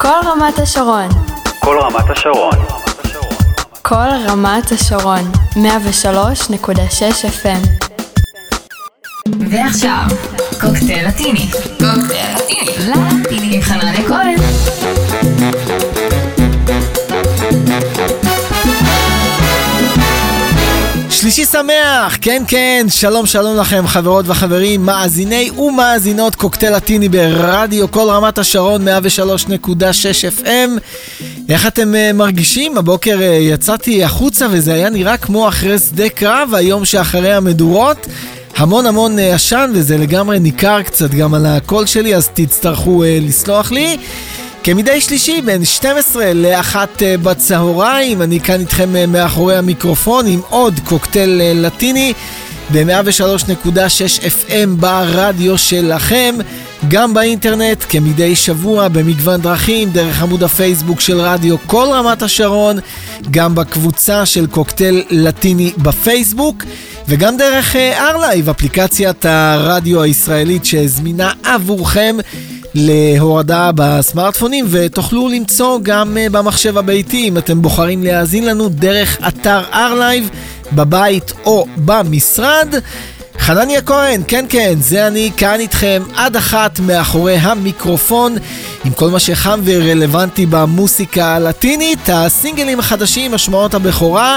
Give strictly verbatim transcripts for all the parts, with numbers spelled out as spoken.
כל רמת השרון. כל רמת השרון. כל רמת השרון. מאה ושלוש נקודה שש אף אם. ועכשיו, קוקטייל לטיני. קוקטייל לטיני. לטיני עם חנניה כהן. שלישי שמח, כן כן, שלום שלום לכם חברות וחברים, מאזיני ומאזינות קוקטייל לטיני ברדיו כל רמת השרון מאה ושלוש נקודה שש אף אם. איך אתם uh, מרגישים? הבוקר uh, יצאתי החוצה וזה היה נראה כמו אחרי שדה קרב, היום שאחרי המדורות. המון המון uh, עשן וזה לגמרי ניכר קצת גם על הקול שלי, אז תצטרכו uh, לסלוח לי. כמדי שלישי בין שתים עשרה לאחת בצהריים, אני כאן איתכם מאחורי המיקרופון עם עוד קוקטייל לטיני ב-מאה ושלוש נקודה שש אף אם ברדיו שלכם, גם באינטרנט כמדי שבוע במגוון דרכים, דרך עמוד הפייסבוק של רדיו כל רמת השרון, גם בקבוצה של קוקטייל לטיני בפייסבוק, וגם דרך ארלייב, אפליקציית הרדיו הישראלית שזמינה עבורכם להורדה בסמארטפונים, ותוכלו למצוא גם במחשב הביתי אם אתם בוחרים להאזין לנו דרך אתר ארלייב בבית או במשרד. חנניה כהן, כן כן, זה אני כאן איתכם עד אחת מאחורי המיקרופון עם כל מה שחם ורלוונטי במוסיקה הלטינית, הסינגלים החדשים, השמעות הבכורה,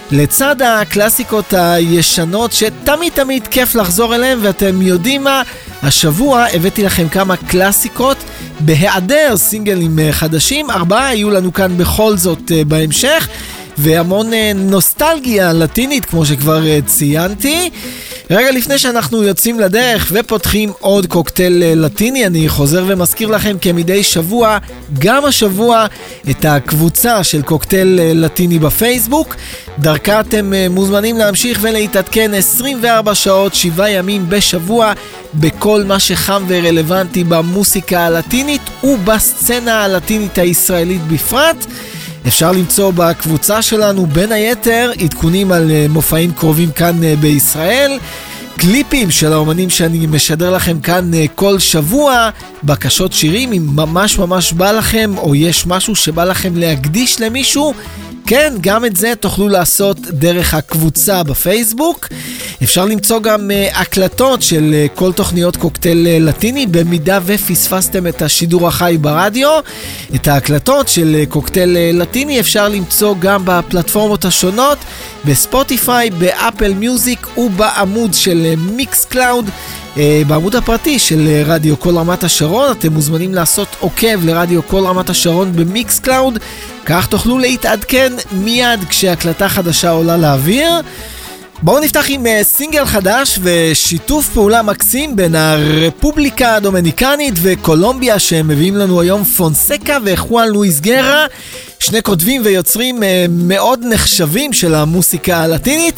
לצד הקלאסיקות הישנות שתמיד תמיד כיף לחזור אליהם. ואתם יודעים מה? השבוע הבאתי לכם כמה קלאסיקות בהיעדר סינגלים חדשים, ארבעה יהיו לנו כאן בכל זאת בהמשך, והמון נוסטלגיה לטינית כמו שכבר ציינתי. רגע לפני שאנחנו יוצאים לדרך ופותחים עוד קוקטייל לטיני, אני חוזר ומזכיר לכם כמדי שבוע, גם השבוע, את הקבוצה של קוקטייל לטיני בפייסבוק. דרכה אתם מוזמנים להמשיך ולהתעדכן עשרים וארבע שעות, שבעה ימים בשבוע, בכל מה שחם ורלוונטי במוסיקה הלטינית ובסצנה הלטינית הישראלית בפרט. אפשר למצוא בקבוצה שלנו בין היתר עדכונים על מופעים קרובים כאן בישראל, קליפים של האומנים שאני משדר לכם כאן כל שבוע, בקשות שירים אם ממש ממש בא לכם, או יש משהו שבא לכם להקדיש למישהו, כן, גם את זה תוכלו לעשות דרך הקבוצה בפייסבוק. אפשר למצוא גם uh, הקלטות של uh, כל תוכניות קוקטייל uh, לטיני, במידה ופספסתם את השידור החי ברדיו. את ההקלטות של uh, קוקטייל uh, לטיני אפשר למצוא גם בפלטפורמות השונות, בספוטיפיי, באפל מיוזיק ובעמוד של uh, מיקס קלאוד. Uh, בעמוד הפרטי של uh, רדיו כל רמת השרון אתם מוזמנים לעשות עוקב לרדיו כל רמת השרון במיקס קלאוד, כך תוכלו להתעדכן מיד כשהקלטה חדשה עולה לאוויר. בואו נפתח עם uh, סינגל חדש ושיתוף פעולה מקסים בין הרפובליקה הדומיניקנית וקולומביה שמביאים לנו היום פונסקה וחואן לואיס גרה, שני כותבים ויוצרים uh, מאוד נחשבים של המוסיקה הלטינית,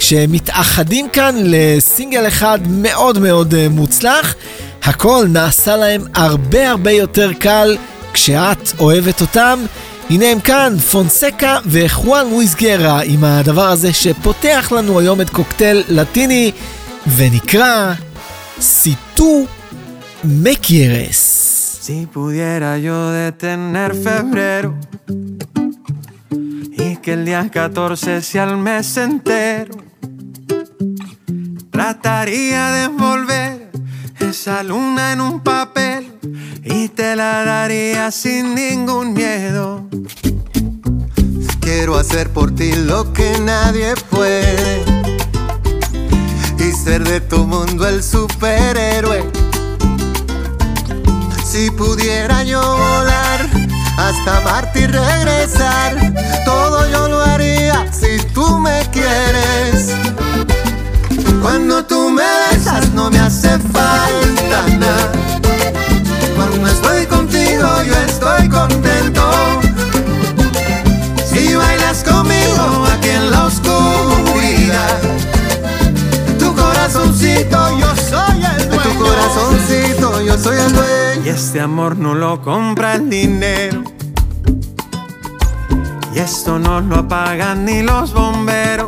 שמתאחדים כאן לסינגל אחד מאוד מאוד uh, מוצלח. הכל נעשה להם הרבה הרבה יותר קל כשאת אוהבת אותם. הנה הם כאן, פונסקה וחואן לואיס גרה, עם הדבר הזה שפותח לנו היום את קוקטייל לטיני, ונקרא Si tú me quieres. Si pudiera yo detener febrero y que el día catorce sea el mes entero, trataría de envolver esa luna en un papel y te la daría sin ningún miedo. Quiero hacer por ti lo que nadie puede y ser de tu mundo el superhéroe. Si pudiera yo volar hasta Marte y regresar, todo yo lo haría si tú me quieres. Cuando tú me besas no me hace falta nada, cuando estoy contigo yo estoy contento. Si bailas conmigo aquí en la oscuridad, tu corazoncito yo soy el dueño. Tu corazoncito yo soy el dueño. Y este amor no lo compra el dinero, y esto no lo apagan ni los bomberos.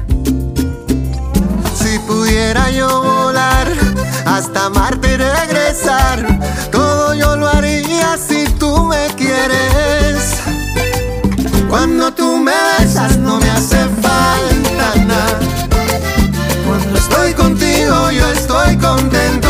Si pudiera yo volar hasta Marte y regresar, todo yo lo haría si tú me quieres. Cuando tú me besas no me hace falta nada. Cuando estoy contigo yo estoy contento.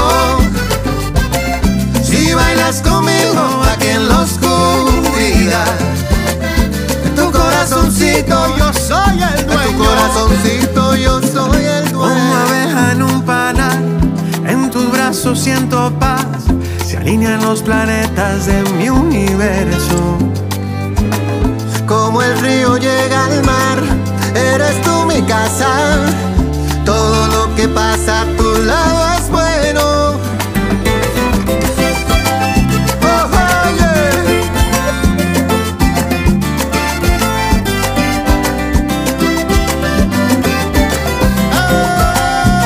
Si bailas conmigo aquí en la oscuridad, en tu corazoncito yo soy el dueño. En tu corazoncito yo soy el dueño. Como abeja en un panal, en tus brazos siento paz. Se alinean los planetas de mi universo. Como el río llega al mar, eres tú mi casa. Todo lo que pasa a tu lado es bueno. Oh, oh, yeah. Ah.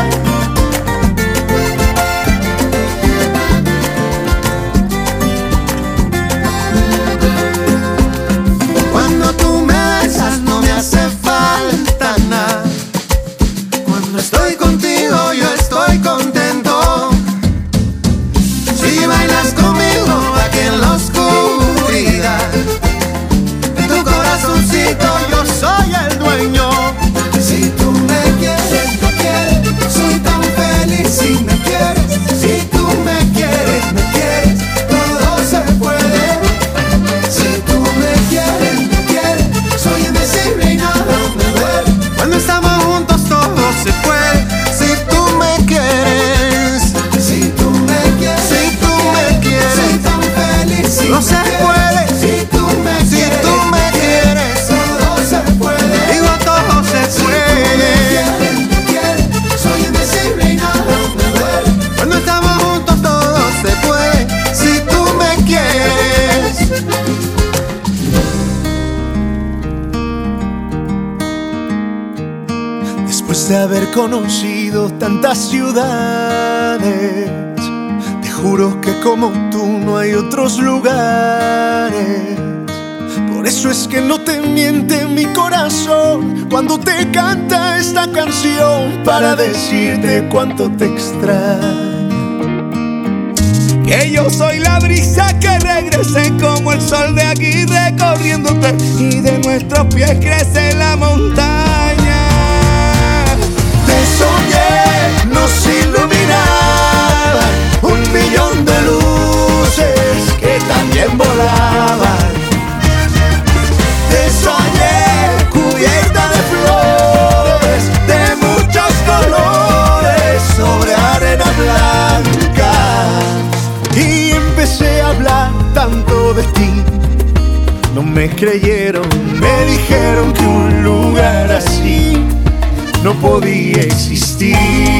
Cuando tú me besas no me hace falta nada. Cuando estoy contigo yo estoy contento. Si bailas conmigo aquí en la oscuridad, en tu corazoncito yo soy el dueño. Si tú me quieres, me quieres, soy tan feliz si me quieres. Si tú me quieres, me quieres, todo se puede. Si tú me quieres, me quieres, soy invencible y nada me duele. Cuando estamos juntos todo se puede. Si tú me quieres, Si tú me quieres, si tú me quieres, soy tan feliz si no me se quieres. puede. Si tú me Si quieres, tú me quieres, todo se puede. digo todo se puede. Me quieres, soy invencible y nada me duele. Cuando estamos juntos todo se puede. Si tú me quieres. Después de haber conocido tantas ciudades, te juro que como tú no hay otros lugares. Por eso es que no te miente mi corazón cuando te canta esta canción para decirte cuánto te extraño. Que yo soy la brisa que regresé como el sol de aquí recorriéndote, y de nuestros pies crece la montaña. Te soñé, nos iluminaban un millón de luces que también volaban. Te soñé cubierta de flores de muchos colores sobre arena blanca, y empecé a hablar tanto de ti. No me creyeron, me dijeron que un lugar así no podía existir,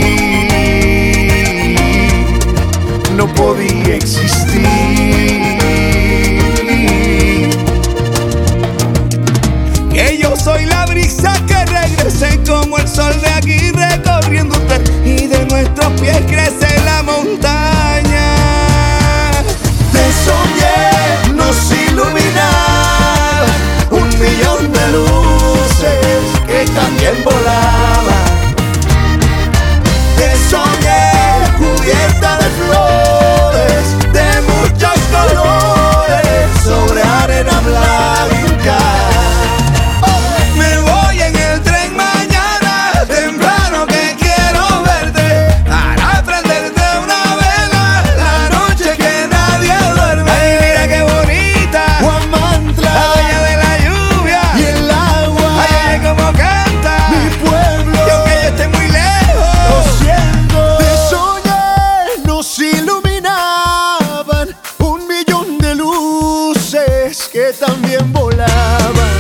no podía existir. Que yo soy la brisa que regresé como el sol de aquí recorriéndote, y de nuestros pies crece la montaña. Te soñé, nos iluminaba un millón de luces que también volaban. Te soñé cubierta de flores de muchos colores sobre arena blanca. Me voy en el tren mañana temprano que quiero verte, para prenderte una vela la noche que nadie duerme. Ay, mira qué bonita Huamantla, la dueña de la lluvia y el agua. Ay, ay, cómo canta mi pueblo, y aunque yo esté muy lejos, lo siento. Te soñé, nos iluminaban un millón de luces que también volaban.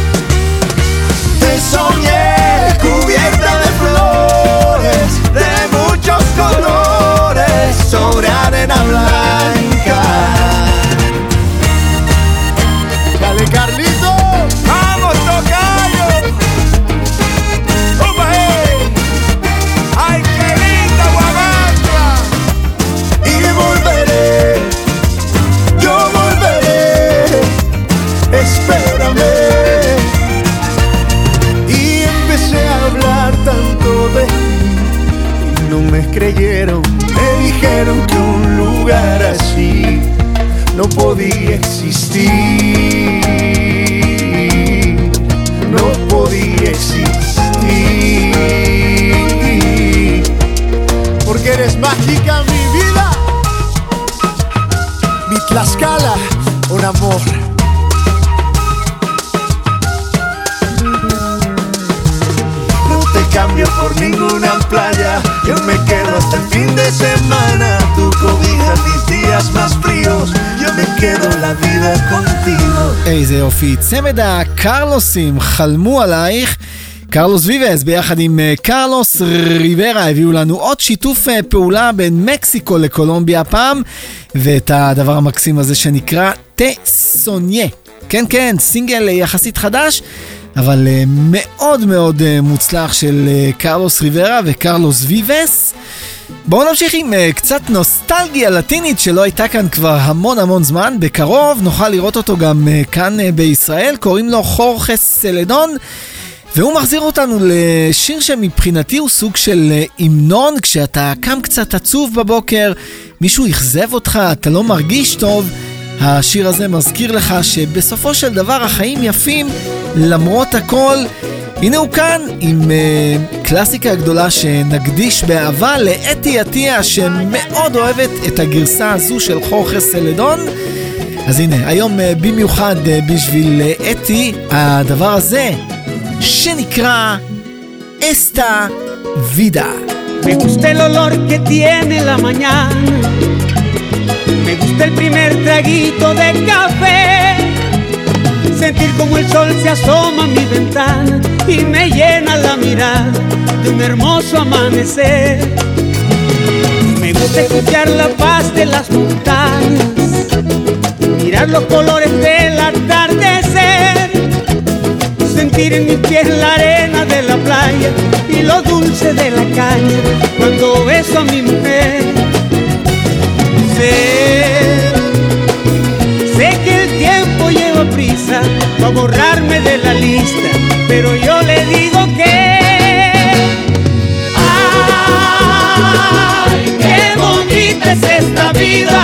Te soñé cubierta de flores de muchos colores sobre arena blanca. Dale, Carlito, vamos, tocayo. ¡Opa, eh! ¡Ay, qué linda Huamantla! Y volveré, yo volveré, espero. un amor. No te cambio por ninguna playa, yo me quedo hasta el fin de semana. Tu cobija mis días más fríos, yo me quedo la vida contigo. איזה יופי, צמד הקרלוסים חלמו עלייך. קרלוס ויבס ביחד עם קרלוס ריברה הביאו לנו עוד שיתוף פעולה בין מקסיקו לקולומביה פעם, ואת הדבר המקסים הזה שנקרא טה סוניה. כן כן, סינגל יחסית חדש, אבל מאוד מאוד מוצלח של קרלוס ריברה וקרלוס ויבס. בואו נמשיך עם קצת נוסטלגיה לטינית שלא הייתה כאן כבר המון המון זמן. בקרוב נוכל לראות אותו גם כאן בישראל, קוראים לו חורחס סלדון, והוא מחזיר אותנו לשיר שמבחינתי הוא סוג של המנון. כשאתה קם קצת עצוב בבוקר, מישהו יחזב אותך, אתה לא מרגיש טוב, השיר הזה מזכיר לך שבסופו של דבר החיים יפים למרות הכל. הנה הוא כאן עם uh, קלאסיקה גדולה שנקדיש באהבה לאתי עטיה, שמאוד אוהבת את הגרסה הזו של חורחס סלדון. אז הנה, היום uh, במיוחד uh, בשביל uh, אתי, הדבר הזה שנקרא Esta Vida. Me gusta el olor que tiene la mañana, me gusta el primer traguito de café, sentir como el sol se asoma a mi ventana y me llena la mirada de un hermoso amanecer. Me gusta escuchar la paz de las montañas, mirar los colores del atardecer, sentir en mis pies la arena de la playa y lo dulce de la caña cuando beso a mi mujer. Sé, sé que el tiempo lleva prisa para borrarme de la lista, pero yo le digo que ¡ay, qué bonita es esta vida!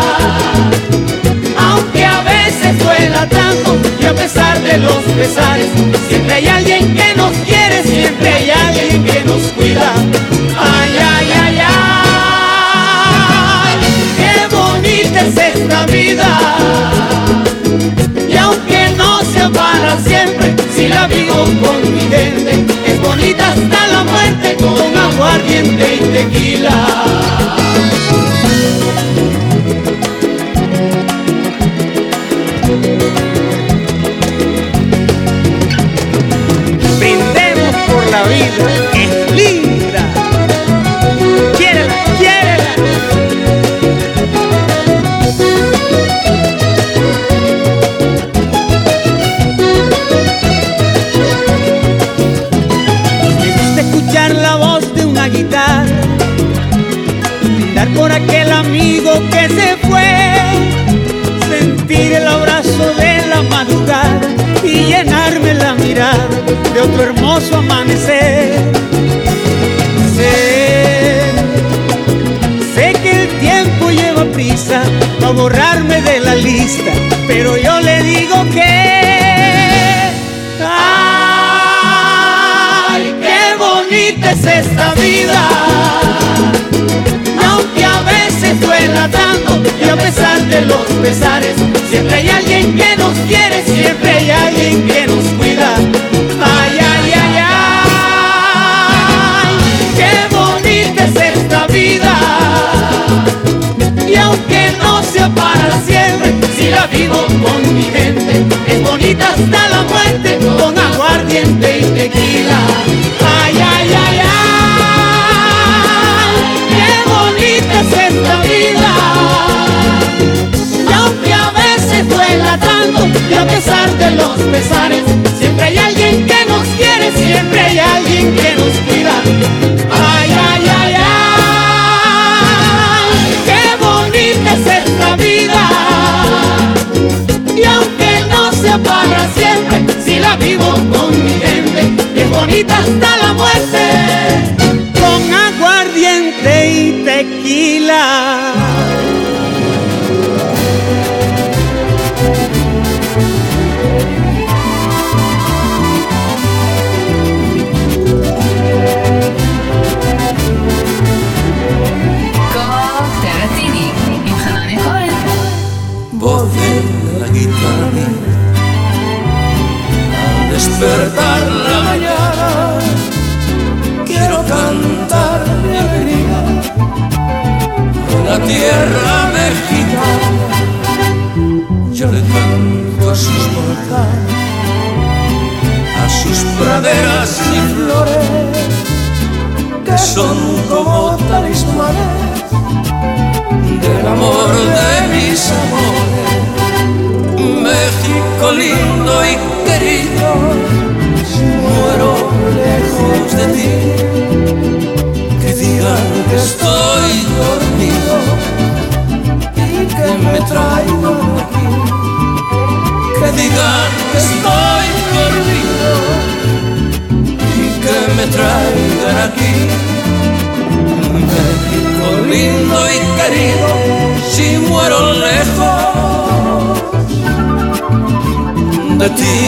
Aunque a veces duela tanto y a pesar de los pesares, siempre hay alguien que nos quiere, siempre hay alguien que nos cuida. ¡Ay, ay, ay, ay! ¡Qué bonita es esta vida! Y aunque no sea para siempre, si la vivo con mi gente, es bonita hasta la muerte con aguardiente y tequila. Brindemos por la vida, que es linda. Quiérela, quiérela. Me gusta escuchar la voz de una guitarra, brindar por aquel amigo que se fue, sentir el abrazo de la madrugada y llenarme la mirada de otro hermoso amanecer. Sé, sé que el tiempo lleva prisa para borrarme de la lista, pero yo le digo que ¡ay, qué bonita es esta vida! Aunque a veces duela tanto y a pesar de los pesares, siempre hay alguien que nos quiere, siempre hay alguien que nos cuida. Ay, ay, ay, ay, qué bonita es esta vida. Y aunque no sea para siempre, si la vivo con mi gente, es bonita hasta la muerte con aguardiente y tequila. Ay, ay, ay, ay, qué bonita es esta vida. Y aunque a veces duela tanto y a pesar de los pesares, siempre hay alguien que nos quiere, siempre hay alguien que nos cuida. Ay, ay, ay, ay, qué bonita es esta vida. Y aunque no sea para siempre, si la vivo con mi gente, es bonita hasta la muerte con aguardiente y tequila. קוקטייל לטיני עם חנן כהן. Volver la guitarra mía. Al despertar la mañana quiero cantar mi alegría a la tierra mexicana. Yo le canto a sus volcanes, a sus praderas y flores, que son como talismanes del amor de mis amores. México lindo y querido, si muero lejos de ti, que digan que estoy dormido y que me traigan aquí. Que digan que estoy dormido y que me traigan aquí. México lindo y querido, si muero lejos de ti.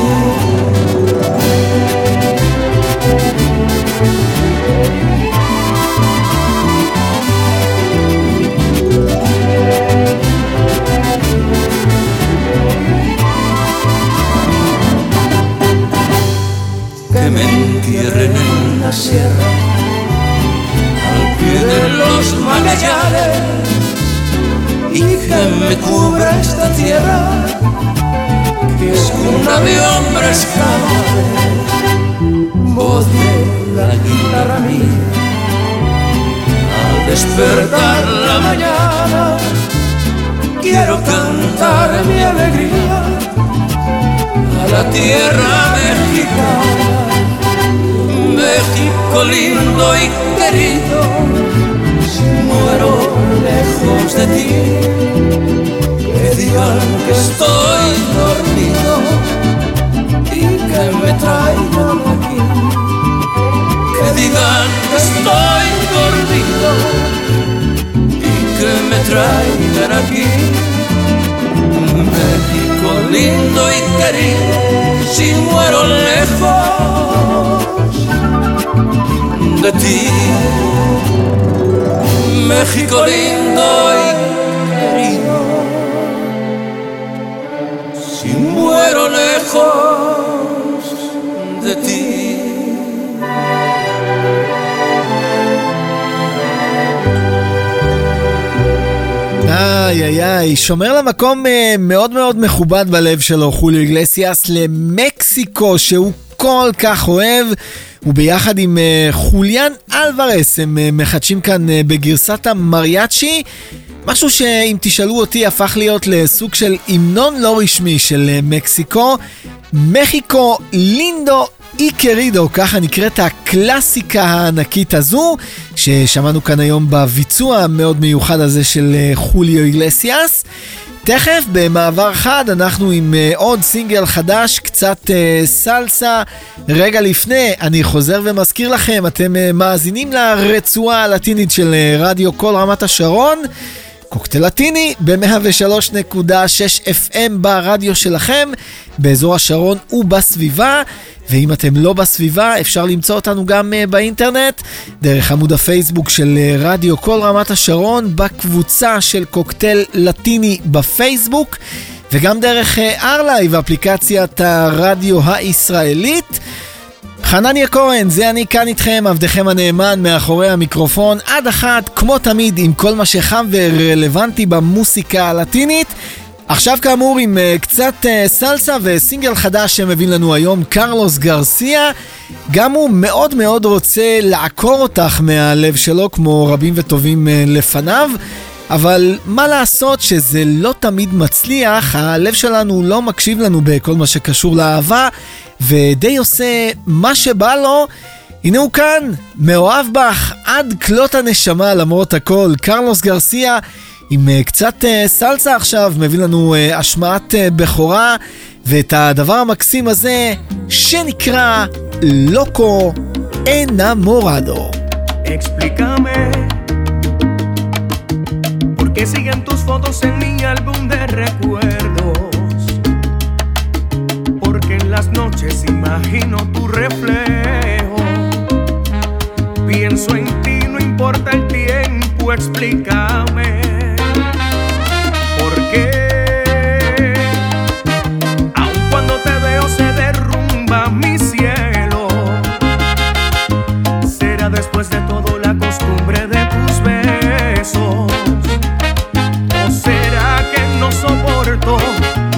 Que me entierren en la sierra, al pie de los Magallanes, y que me cubra esta tierra, que es cuna de hombres cabales. Voz de la guitarra mía, al despertar la mañana quiero cantar mi alegría a la tierra mexicana. México lindo y querido, si muero lejos de ti, que digan que estoy dormido y que me traigan aquí. Que digan que estoy dormido y que me traigan aquí. México lindo y querido, si muero lejos de ti. México lindo y querido, si muero lejos de ti. איי איי איי, שומר למקום מאוד מאוד מכובד בלב שלו, חוליו איגלסיאס, למקסיקו שהוא כל כך אוהב, וביחד עם חוליאן אלוורס הם מחדשים כאן בגרסת המריאצ'י, משהו שאם תשאלו אותי הפך להיות לסוג של המנון לא רשמי של מקסיקו. מחיקו לינדו אי קרידו, ככה נקראת הקלאסיקה הענקית הזו ששמענו כאן היום בביצוע המאוד מיוחד הזה של חוליו איגלסיאס. תכף במעבר חד אנחנו עם עוד סינגל חדש, קצת סלסה. רגע לפני אני חוזר ומזכיר לכם, אתם מאזינים לרצועה הלטינית של רדיו כל רמת השרון, קוקטייל לטיני ב-מאה ושלוש נקודה שש אף אם ברדיו שלכם באזור השרון ובסביבה. ואם אתם לא בסביבה אפשר למצוא אותנו גם באינטרנט דרך עמוד הפייסבוק של רדיו כל רמת השרון, בקבוצה של קוקטייל לטיני בפייסבוק, וגם דרך ארלייב, אפליקציית הרדיו הישראלית. חנניה כהן, זה אני כאן איתכם, עבדכם הנאמן מאחורי המיקרופון עד אחת, כמו תמיד, עם כל מה שחם ורלוונטי במוסיקה הלטינית. עכשיו כאמור עם uh, קצת uh, סלסה וסינגל חדש שמבין לנו היום קרלוס גרסיה. גם הוא מאוד מאוד רוצה לעקור אותך מהלב שלו כמו רבים וטובים uh, לפניו, אבל מה לעשות שזה לא תמיד מצליח, הלב שלנו לא מקשיב לנו בכל מה שקשור לאהבה ודי עושה מה שבא לו. הנה הוא כאן, מאוהב בך עד כלות הנשמה למרות הכל, קרלוס גרסיה עם uh, קצת uh, סלסה עכשיו, מביא לנו uh, השמעת uh, בכורה, ואת הדבר המקסים הזה שנקרא לוקו enamorado. Explícame ¿por qué siguen tus fotos en mi álbum de recuerdos? Porque en las noches imagino tu reflejo, pienso en ti, no importa el tiempo, explícame ¿por qué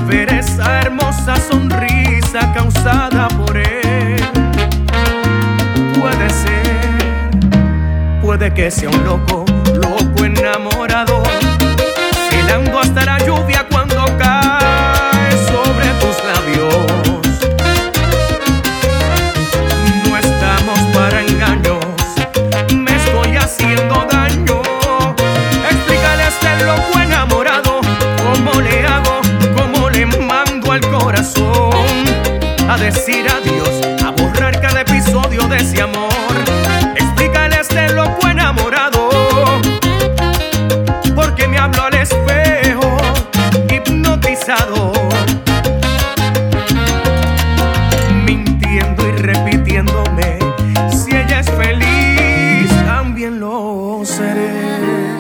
ver esa hermosa sonrisa causada por él. Puede ser, puede que sea un loco, loco enamorado, celando hasta la lluvia cuando cae sobre tus labios. No estamos para engaños, me estoy haciendo daño. Explícale a este loco enamorado cómo le hago, cómo le mando al corazón a decir adiós, a borrar cada episodio de ese amor. Explícale a este loco enamorado porque me hablo al espejo hipnotizado, mintiendo y repitiéndome: si ella es feliz, también lo seré.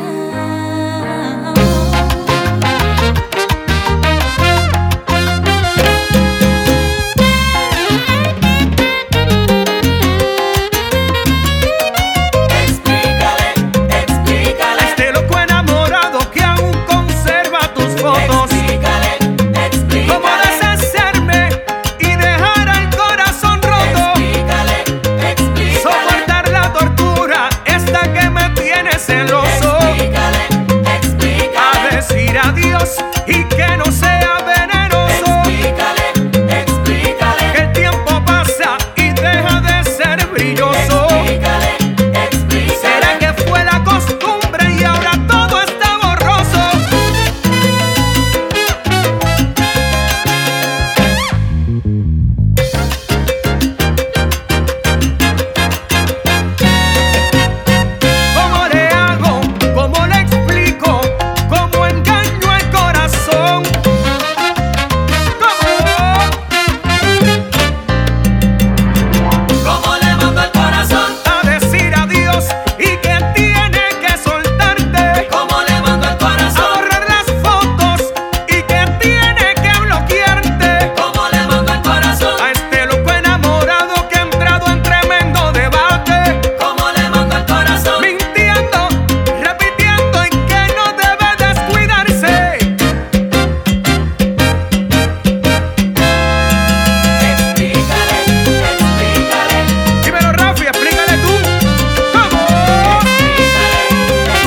Y que no sea venenoso. Explícale, explícale que el tiempo pasa y deja de ser brilloso. Explícale, explícale. ¿Será que fue la costumbre y ahora todo está borroso? ¿Cómo le hago? ¿Cómo le explico? ¿Cómo engaño al corazón? ¿Cómo? ¿Cómo le mando al corazón a decir adiós y que tiene que soltarte? ¿Cómo le mando al corazón a borrar las fotos y que tiene que bloquearte? ¿Cómo le mando al corazón a este loco enamorado que ha entrado en tremendo debate? ¿Cómo le mando al corazón mintiendo, repitiendo y que no debe descuidarse? Explícale, explícale. Dímelo, Rafi, explícale tú. ¿Cómo? Explícale,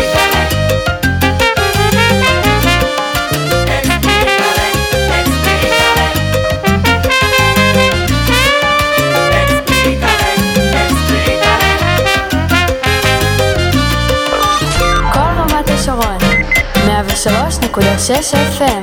כל רמת השרון, מאה ושלוש נקודה שש אף אם.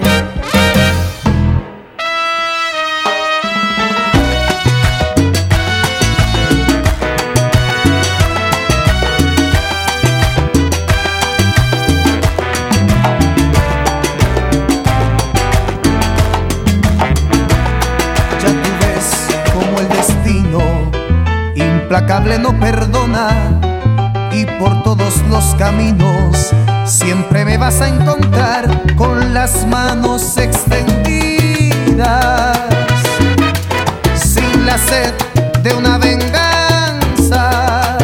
Ya tú ves como el destino implacable no perdona, y por todos los caminos siempre me vas a encontrar con las manos extendidas, sin la sed de una venganza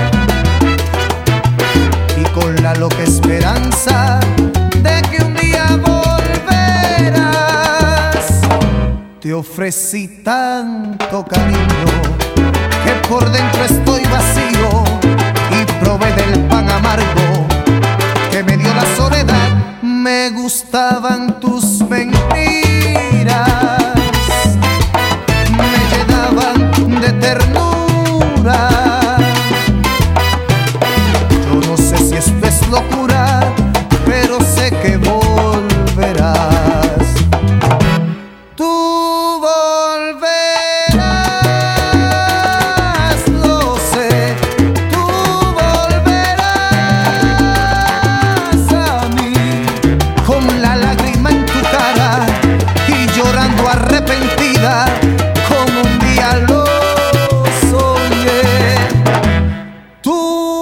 y con la loca esperanza de que un día volverás. Te ofrecí tanto cariño que por dentro estoy vacío, y probé del pan amargo que me dio la soledad. Me gustaban tus mentiras, me llenaban de ternura. Yo no sé si esto es locura, pero sé que volverás. Tú volverás, lo sé. Tú volverás a mí con la lágrima en tu cara y llorando arrepentida como un día lo soñé. Tú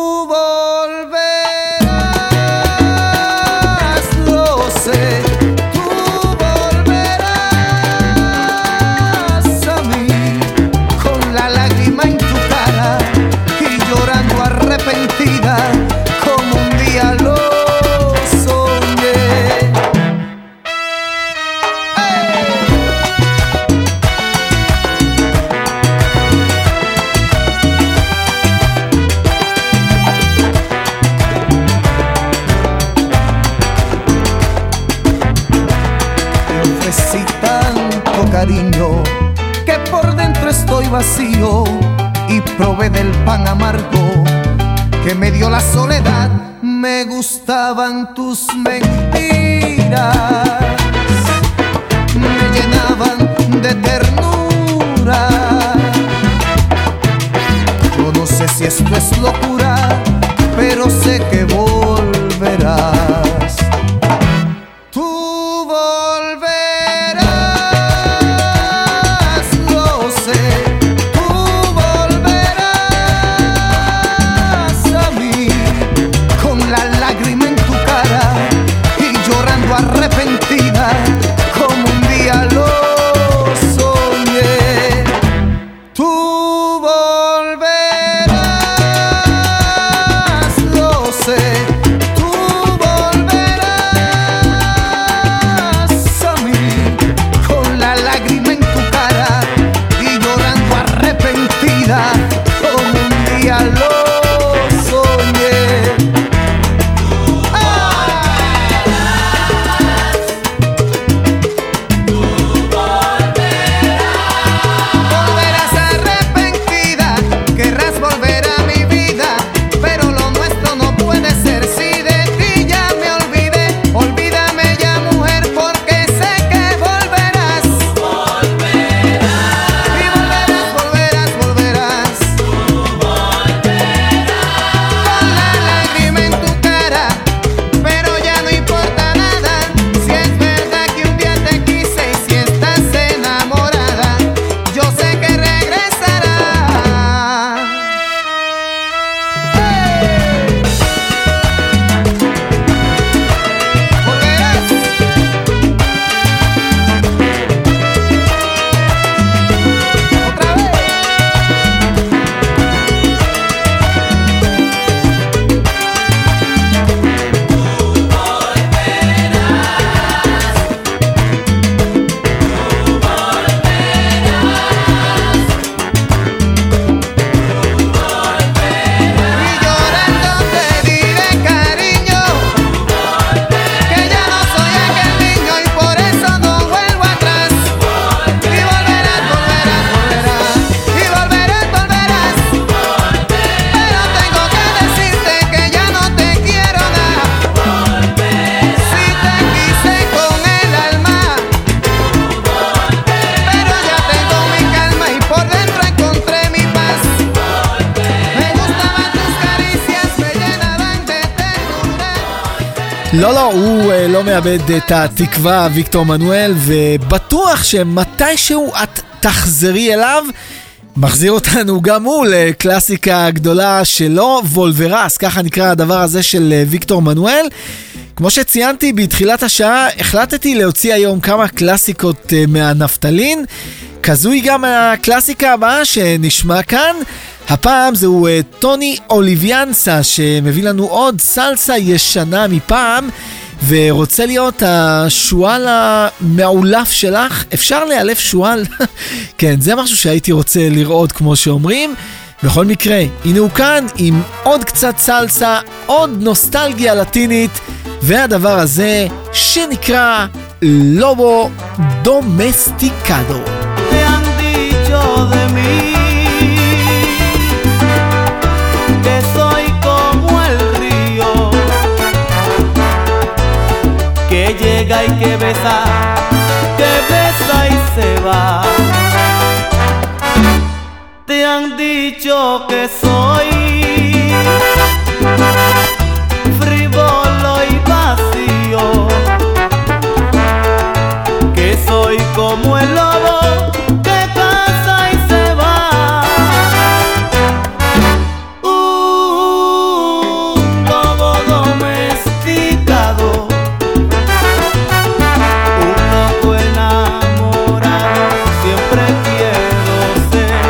volverás, lo sé. Tú volverás a mí con la lágrima en tu cara y llorando arrepentida como un día lo soñé. ¡Hey! cariño, que por dentro estoy vacío y probé del pan amargo que me dio la soledad. Me gustaban tus mentiras, me llenaban de ternura. Yo no sé si esto es locura, pero sé que volverás. Tú volverás, lo sé. Tú volverás a mí con la lágrima en tu cara y llorando arrepentida como un día lo soñé. Tú volverás, lo sé. Tú volverás a mí con la lágrima en tu cara y llorando arrepentida como un día lo soñé. Volverás arrepentida, querrás volver a mi vida, pero lo nuestro no puede ser. Si de ti ya me olvidé, olvídame ya, mujer, porque sé que volverás. Y volverás, volverás, volverás. Con la lágrima en tu cara, pero ya no importa nada. Si es verdad que un día te quise y si estás enamorada, yo sé que regresarás. Volverás. Otra vez. Y llorando te diré, cariño, que ya no soy aquel niño y por eso no vuelvo atrás. Y volverás, volverás, volverás. Y volverás, volverás. Pero tengo que decirte que ya no te quiero nada. Si te quise con el alma, pero ya tengo mi calma y por dentro encontré mi paz. Me gustaban tus caricias, me llenaban de ternura. לא, לא, הוא אה, לא מאבד את התקווה, ויקטור מנואל, ובטוח שמתישהו את תחזרי אליו. מחזיר אותנו גם הוא לקלאסיקה גדולה שלו, וולברס, ככה נקרא הדבר הזה של אה, ויקטור מנואל. כמו שציינתי בתחילת השעה, החלטתי להוציא היום כמה קלאסיקות אה, מהנפטלין. כזו היא גם הקלאסיקה הבאה שנשמע כאן. הפעם זהו אה, טוני אוליביאנסה שמביא לנו עוד סלסה ישנה מפעם, ורוצה להיות השואל המעולף שלך. אפשר לאלף שואל? כן, זה משהו שהייתי רוצה לראות כמו שאומרים. בכל מקרה, הנה הוא כאן עם עוד קצת סלסה, עוד נוסטלגיה לטינית, והדבר הזה שנקרא לובו דומסטיקדו. Te han dicho de mí que soy como el río que llega y que besa, que besa y se va. Te han dicho que soy frívolo y vacío, que soy como el lobo que caza y se va. Un lobo domesticado, un loco enamorado, siempre quiero ser.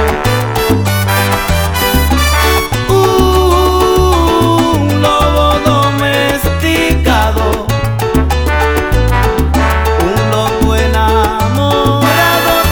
Un lobo domesticado, un loco enamorado,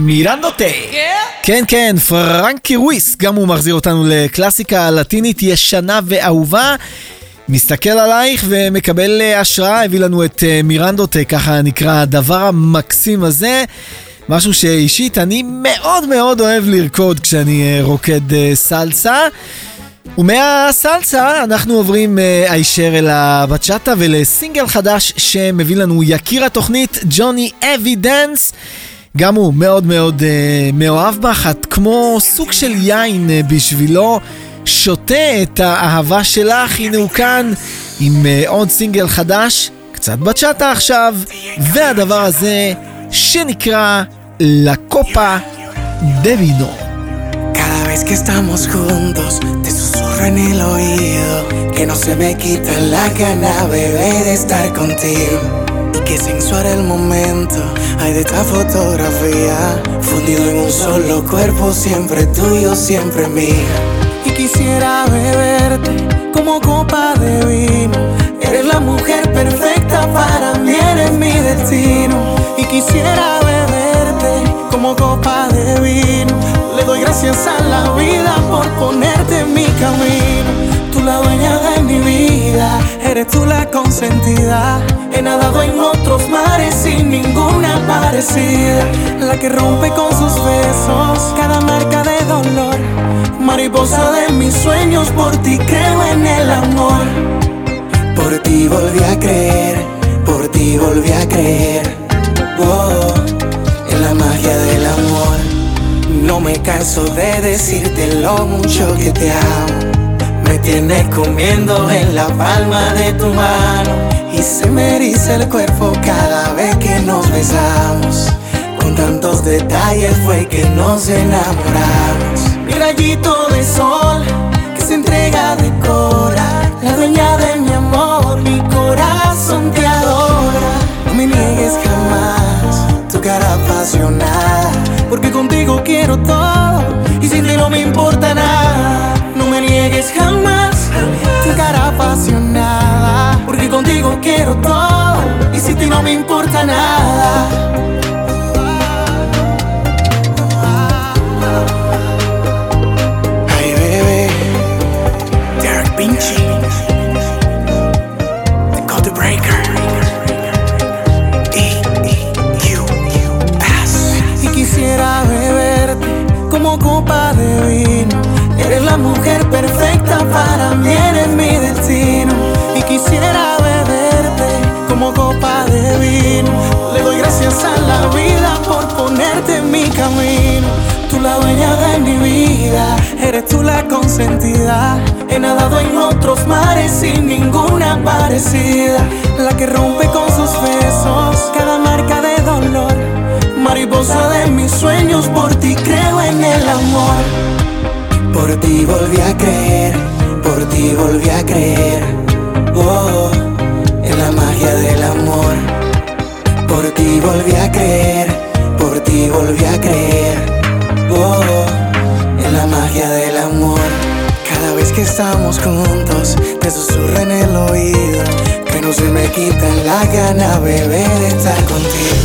מירנדוטה. כן, כן, פרנקי רויס, גם הוא מחזיר אותנו לקלאסיקה לטינית ישנה ואהובה. מסתכל עלייך ומקבל השראה, הביא לנו את מירנדוטה, ככה נקרא הדבר המקסים הזה. משהו שאישית אני מאוד מאוד אוהב לרקוד כשאני רוקד סלסה. ומהסלסה אנחנו עוברים הישר אל הבצ'אטה ולסינגל חדש שמביא לנו יקיר התוכנית ג'וני אבידנס. גם הוא מאוד מאוד uh, מאוהב בך, את כמו סוג של יין uh, בשבילו, שותה את האהבה שלך. הנה הוא כאן עם uh, עוד סינגל חדש, קצת בצ'אטה עכשיו, והדבר הזה שנקרא La Copa de Vino. Cada vez que estamos juntos, te susurro en el oído que no se me quita la gana, bebé, de estar contigo. Y que sensual el momento hay de esta fotografía, fundido en un solo cuerpo, siempre tuyo, siempre mío. Y quisiera beberte como copa de vino. Eres la mujer perfecta para mí, eres mi destino. Y quisiera beberte como copa de vino. Le doy gracias a la vida por ponerte en mi camino. Tú la dueña de mi vida, eres tú la consentida. He nadado en otros mares sin ninguna parecida. La que rompe con sus besos cada marca de dolor. Mariposa de mis sueños, por ti creo en el amor. Por ti volví a creer, por ti volví a creer. Oh, en la magia del amor. No me canso de decirte lo mucho que te amo. Me tienes comiendo en la palma de tu mano. Y se me eriza el cuerpo cada vez que nos besamos. Con tantos detalles fue que nos enamoramos. Mi rayito de sol que se entrega de cora. La dueña de mi amor, mi corazón te adora. No me niegues jamás tu cara apasionada, porque contigo quiero todo y sin ti no me importa nada. No me niegues jamás tu cara apasionada, porque contigo quiero todo y sin ti no me importa nada. Ay, bebé, Derek Pinchy, The Code Breaker, E E U S. Y quisiera beberte como copa de vino. Eres la mujer perfecta para mí, eres mi destino. Y quisiera beberte como copa de vino. Le doy gracias a la vida por ponerte en mi camino. Tú la dueña de mi vida, eres tú la consentida. He nadado en otros mares sin ninguna parecida. La que rompe con sus besos cada marca de dolor. Mariposa de mis sueños, por ti creo en el amor. Por ti volví a creer, por ti volví a creer. Oh, en la magia del amor. Por ti volví a creer, por ti volví a creer. Oh, en la magia del amor. Cada vez que estamos juntos, te susurro en el oído que no se me quita la gana, bebé, de estar contigo.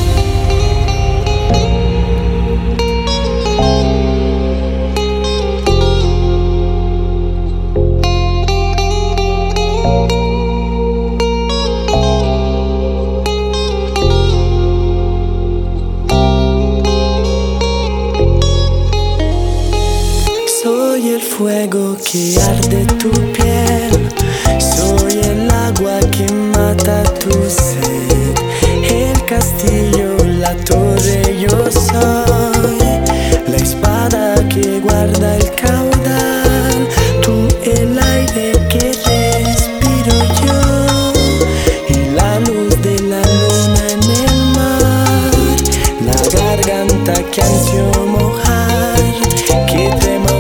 Fuego que arde tu piel, soy el agua que mata tu sed, el castillo, la torre yo soy, la espada que guarda el caudal, tú el aire que respiro yo, y la luz de la luna en el mar, la garganta que ansio mojar, que trema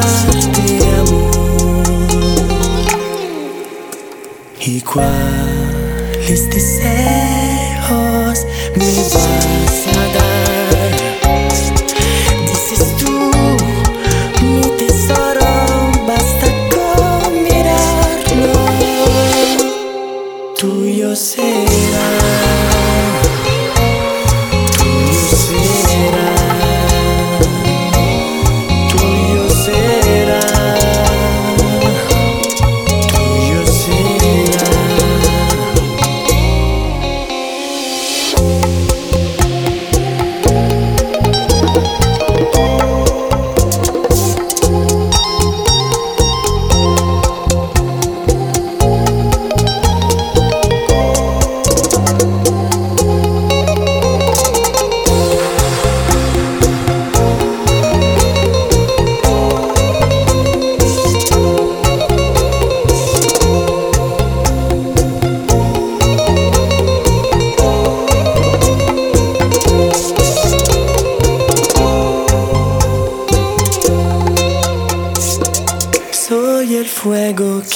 y cuáles deseos me vas a dar. Dices tú, mi tesoro, basta con mirarlo, tuyo será, tuyo será.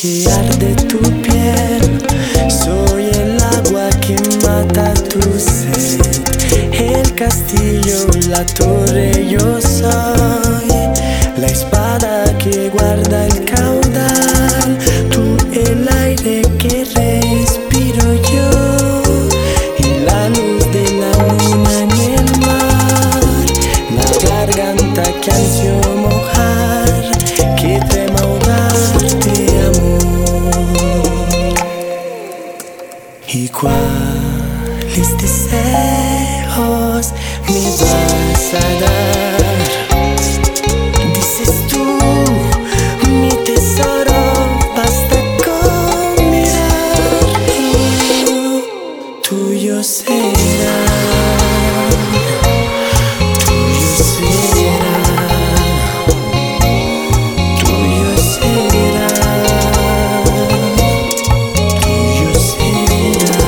que arde tu piel, soy el agua que mata tu sed, el castillo, la torre yo soy, la espada que guarda el caudal, tú el aire que respiro yo, y la luz de la luna en el mar, la garganta que ansio mojar, que teme ahogarte amor. ¿Y cuáles deseos me vas a dar? Dices tú, mi tesoro, basta con mirar, oh, tuyo será, tuyo será, tuyo será, tuyo será.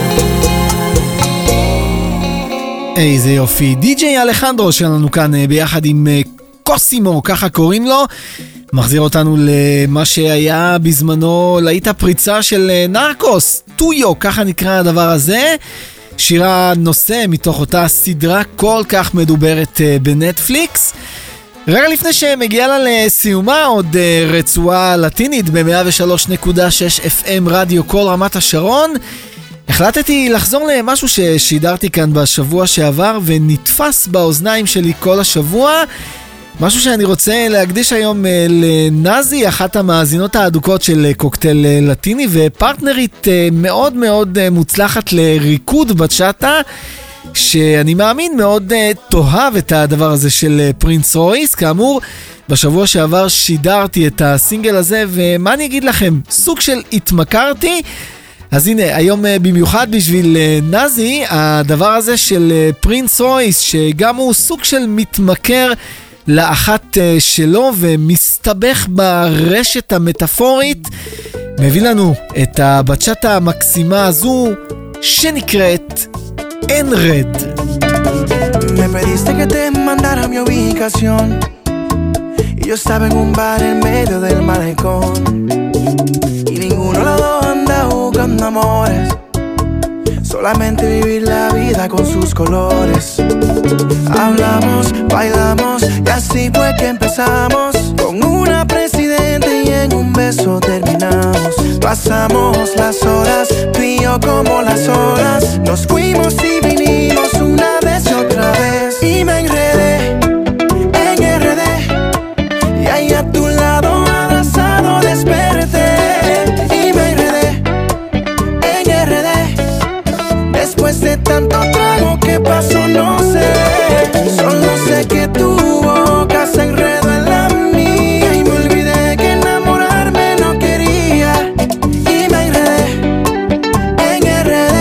איזה יופי, די-ג'יי אלחנדרו שלנו כאן ביחד עם קוסימו, ככה קוראים לו, מחזיר אותנו למה שהיה בזמנו להיט הפריצה של נרקוס, טויו, ככה נקרא הדבר הזה, שירה נושא מתוך אותה סדרה כל כך מדוברת בנטפליקס. רגע לפני שמגיעה לה לסיומה עוד רצועה לטינית ב-מאה ושלוש נקודה שש אף אם רדיו כל רמת השרון, החלטתי לחזור למשהו ששידרתי כאן בשבוע שעבר ונתפס באוזניים שלי כל השבוע, משהו שאני רוצה להקדיש היום לנזי, אחת המאזינות האדוקות של קוקטייל לטיני ופרטנרית מאוד מאוד מוצלחת לריקוד בצ'אטה, שאני מאמין מאוד תאהב את הדבר הזה של פרינס רויס. כאמור, בשבוע שעבר שידרתי את הסינגל הזה, ומה אני אגיד לכם, סוג של התמכרתי. אז הנה, היום במיוחד בשביל נזי, הדבר הזה של פרינס רויס, שגם הוא סוג של מתמכר לאחת שלו ומסתבך ברשת המטאפורית, מביא לנו את הבצ'אטה המקסימה הזו שנקראת En Red. Me pediste que te mandara mi ubicación y yo estaba en un bar en medio del malecón y ninguno de los dos anda buscando amores, solamente vivir la vida con sus colores. Hablamos, bailamos y así fue que empezamos, con una presidente y en un beso terminamos. Pasamos las horas, tú y yo como las olas, nos fuimos y vinimos una vez y otra vez. Y me enredé en R D y ahí a tu lado abrazado desperté. Y me enredé en R D después de tanto trago que pasó no sé, solo sé que tu boca se enredó en la mía y me olvidé que enamorarme no quería. Y me enredé en R D.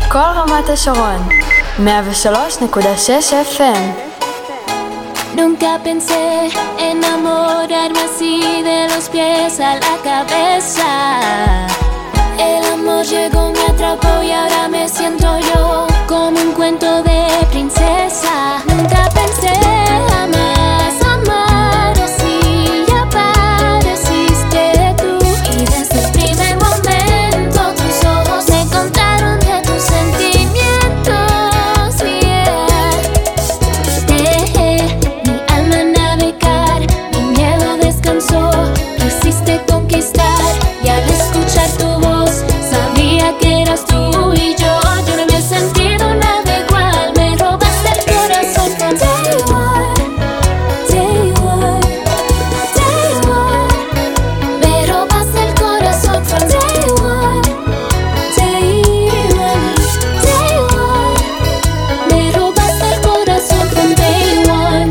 כל רמת השרון, מאה ושלוש נקודה שש אף אם. Nunca pensé enamorarme así de los pies a la cabeza. El amor llegó, me atrapó y ahora me siento yo como un cuento de princesa. Nunca pensé jamás amar así y apareciste tú. Y desde el primer momento tus ojos me contaron de tus sentimientos. Yeah. Dejé mi alma navegar, mi miedo descansó. Quisiste conquistar y al escuchar tu voz sabía que eras tú y yo. Yo no me he sentido nada igual. Me robaste el corazón from day one, day one, day one. Me robaste el corazón from day one, day one, day one. Me robaste el corazón from day one.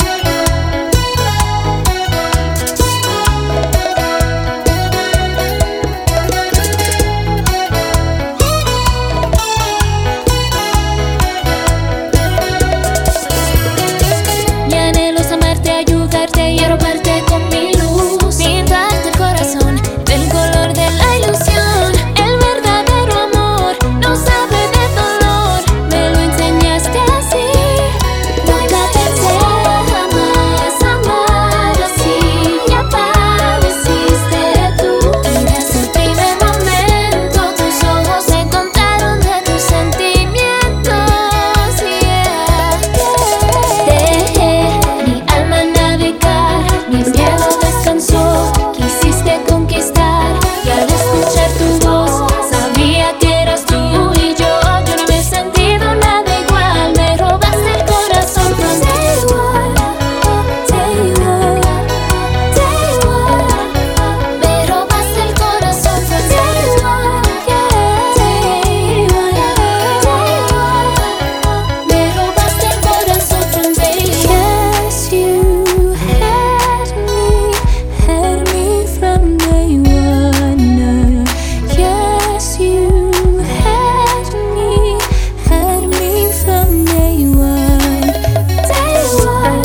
Mi anhelo es amarte, ayudarte y arroparte con mi luz. Pintarte el corazón del color de la ilusión. El verdadero amor no sabe de dolor. Me lo enseñaste así. Nunca pensé jamás amar así y apareciste tú. Y desde el primer momento tus ojos me contaron de tus sentimientos. Yeah. Dejé mi alma navegar, mi miedo descansó. Quisiste conquistar y al escuchar tu voz sabía que eras tú y yo. Yo no me he sentido nada igual. Me robaste el corazón from day one, day one, day one. Me robaste el corazón from day one, yeah, day one, day one. Me robaste el corazón from day one. Yes, you had me, had me from day one. Yes, you had me, had me from day one. Day one,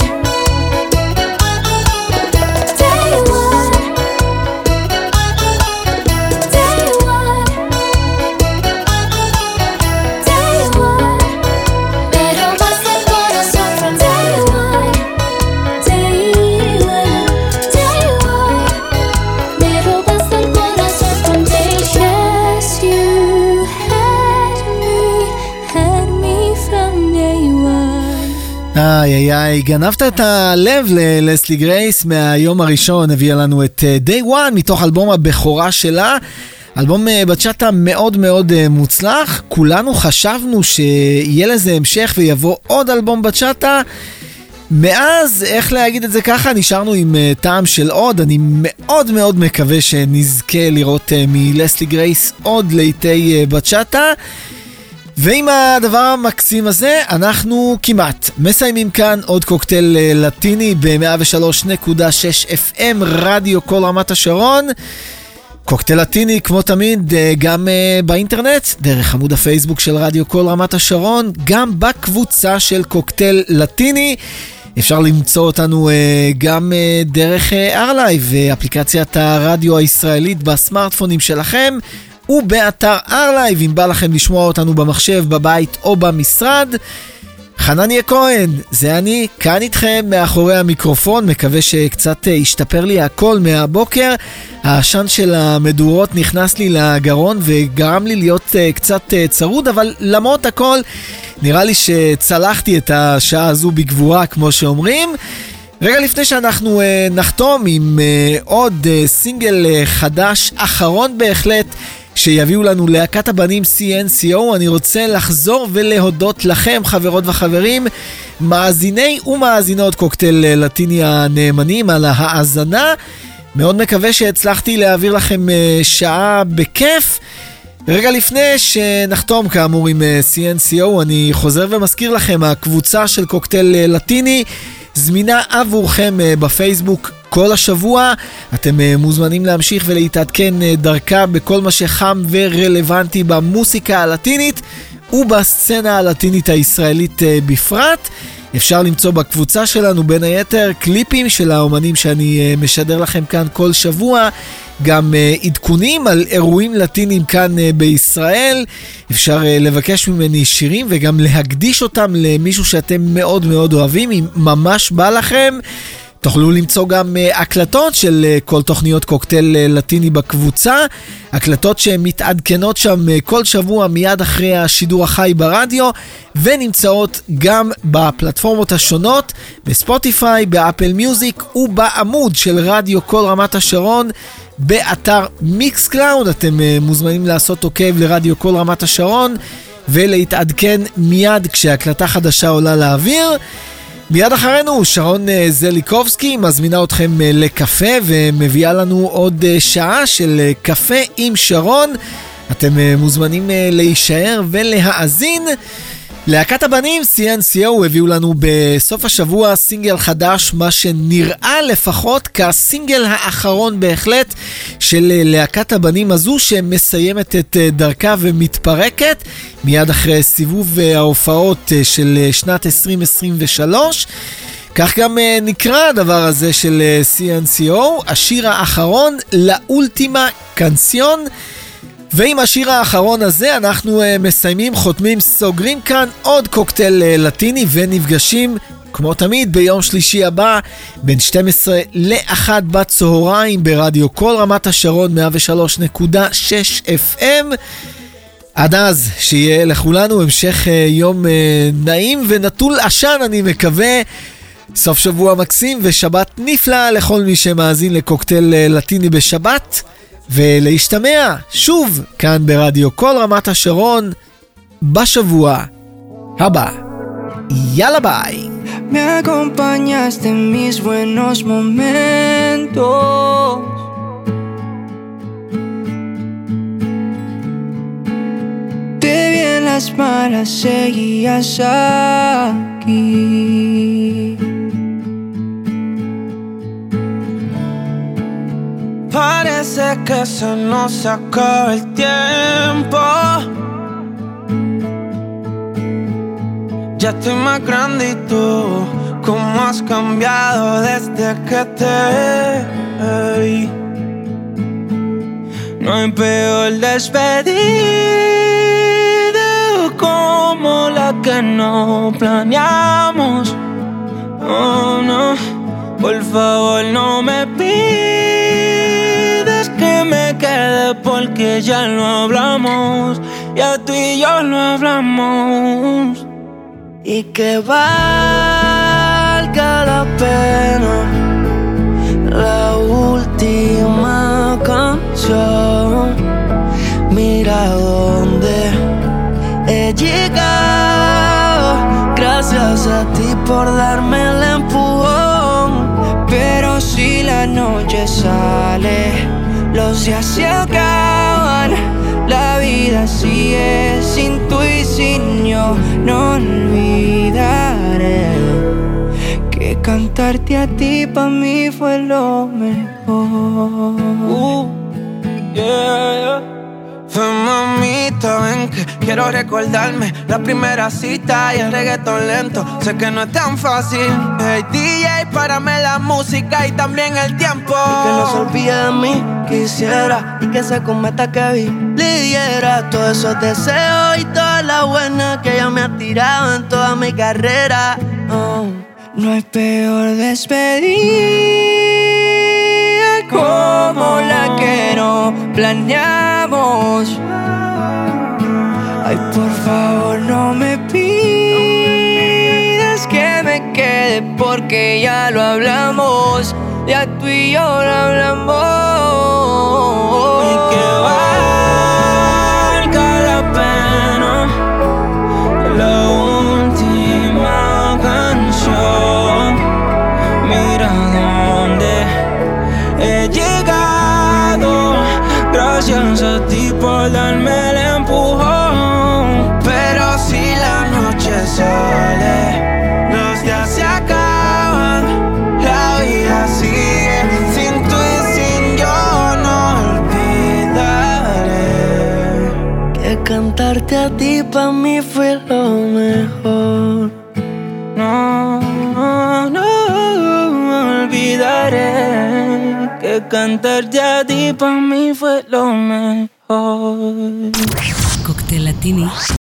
day one, day one, day one. Me robaste el corazón from day one, day one, day one. Me robaste el corazón from day one. Yes, you had me, had me from day one. איי איי איי, גנבת את הלב ללסלי גרייס מהיום הראשון, הביאה לנו את uh, Day One מתוך אלבום הבכורה שלה, אלבום uh, בצ'אטה מאוד מאוד uh, מוצלח. כולנו חשבנו שיהיה לזה המשך ויבוא עוד אלבום בצ'אטה, מאז, איך להגיד את זה ככה, נשארנו עם uh, טעם של עוד. אני מאוד מאוד מקווה שנזכה לראות uh, מלסלי גרייס עוד לעיתי uh, בצ'אטה. ועם הדבר המקסים הזה אנחנו כמעט מסיימים כאן עוד קוקטייל לטיני ב-מאה ושלוש נקודה שש אף אם רדיו כל רמת השרון. קוקטייל לטיני כמו תמיד גם באינטרנט, דרך עמוד הפייסבוק של רדיו כל רמת השרון, גם בקבוצה של קוקטייל לטיני. אפשר למצוא אותנו גם דרך ארלייב, אפליקציית הרדיו הישראלית בסמארטפונים שלכם, ובאתר ארלייב, אם בא לכם לשמוע אותנו במחשב, בבית או במשרד. חנניה כהן, זה אני, כאן איתכם מאחורי המיקרופון, מקווה שקצת השתפר לי הכל מהבוקר. העשן של המדורות נכנס לי לגרון וגרם לי להיות קצת צרוד, אבל למרות הכל נראה לי שצלחתי את השעה הזו בגבורה, כמו שאומרים. רגע לפני שאנחנו uh, נחתום עם uh, עוד uh, סינגל uh, חדש, אחרון בהחלט, שיביאו לנו להקת הבנים סי אן סי או, אני רוצה לחזור ולהודות לכם, חברות וחברים, מאזיני ומאזינות קוקטייל לטיני הנאמנים, על ההאזנה. מאוד מקווה שהצלחתי להעביר לכם uh, שעה בכיף. רגע לפני שנחתום כאמור עם uh, סי אן סי או, אני חוזר ומזכיר לכם, הקבוצה של קוקטייל uh, לטיני זמינה עבורכם בפייסבוק כל השבוע. אתם מוזמנים להמשיך ולהתעדכן דרכה בכל מה שחם ורלוונטי במוסיקה הלטינית, ובסצנה הלטינית הישראלית בפרט. אפשר למצוא בקבוצה שלנו בין היתר קליפים של האומנים שאני משדר לכם כאן כל שבוע, גם עדכונים על אירועים לטינים כאן בישראל. אפשר לבקש ממני שירים וגם להקדיש אותם למישהו שאתם מאוד מאוד אוהבים, אם ממש בא לכם. תוכלו למצוא גם הקלטות של כל תוכניות קוקטייל לטיני בקבוצה, הקלטות שמתעדכנות שם כל שבוע מיד אחרי השידור החי ברדיו, ונמצאות גם בפלטפורמות השונות, בספוטיפיי, באפל מיוזיק ובעמוד של רדיו כל רמת השרון, באתר מיקס קלאוד. אתם מוזמנים לעשות עוקב לרדיו כל רמת השרון ולהתעדכן מיד כשהקלטה חדשה עולה לאוויר. מיד אחרינו שרון זליקובסקי מזמינה אתכם לקפה ומביאה לנו עוד שעה של קפה עם שרון. אתם מוזמנים להישאר ולהאזין. להקת הבנים סי אן סי או הביאו לנו בסוף השבוע סינגל חדש, מה שנראה לפחות כסינגל האחרון בהחלט של להקת הבנים הזו, שמסיימת את דרכה ומתפרקת מיד אחרי סיבוב ההופעות של שנת עשרים עשרים ושלוש. כך גם נקרא הדבר הזה של סי אן סי או, השיר האחרון, לאולטימה קנסיון. ועם השיר האחרון הזה אנחנו uh, מסיימים, חותמים, סוגרים כאן עוד קוקטייל uh, לטיני, ונפגשים כמו תמיד ביום שלישי הבא בין שתים עשרה לאחת בצהריים ברדיו כל רמת השרון מאה ושלוש נקודה שש אף אם. עד אז שיהיה לכולנו המשך uh, יום uh, נעים ונטול עשן, אני מקווה. סוף שבוע מקסים ושבת נפלא לכל מי שמאזין לקוקטייל uh, לטיני בשבת, ולהשתמע שוב כאן ברדיו כל רמת השרון בשבוע הבא. יאללה ביי. Me acompañaste en mis buenos momentos, te vi en las malas, seguías aquí. Parece que se nos acaba el tiempo. Ya estoy más grande y tú, cómo has cambiado desde que te vi. No hay peor despedida como la que no planeamos. Oh no, por favor no me pidas que me quede porque ya lo hablamos, ya tú y yo lo hablamos. Y que valga la pena la última canción. Mira dónde he llegado, gracias a ti por darme el empujón. Pero si la noche sale, los días se acaban, la vida sigue sin tú y sin yo. No olvidaré que cantarte a ti pa' mí fue lo mejor. Uh, yeah, yeah. Ven mamita, ven que quiero recordarme la primera cita y el reggaetón lento. Sé que no es tan fácil. Hey D J, párame la música y también el tiempo. Y que no se olvide de mí, quisiera. Y que se cometa que vi, le diera todos esos deseos y toda la buena que ella me ha tirado en toda mi carrera. Oh. No hay peor despedida como la que no planeamos. Ay, por favor no me pidas que me quede porque ya lo hablamos, ya tú y yo lo hablamos. Y que valga la pena la última canción. Mira dónde he llegado, gracias a ti por darme el empujón. Pero si la noche sale, los días se acaban, la vida sigue sin tú y sin yo. No olvidar cantarte a ti pa' mí fue lo mejor. No, no, no olvidaré que cantarte a ti pa' mí fue lo mejor. Cóctel Latini.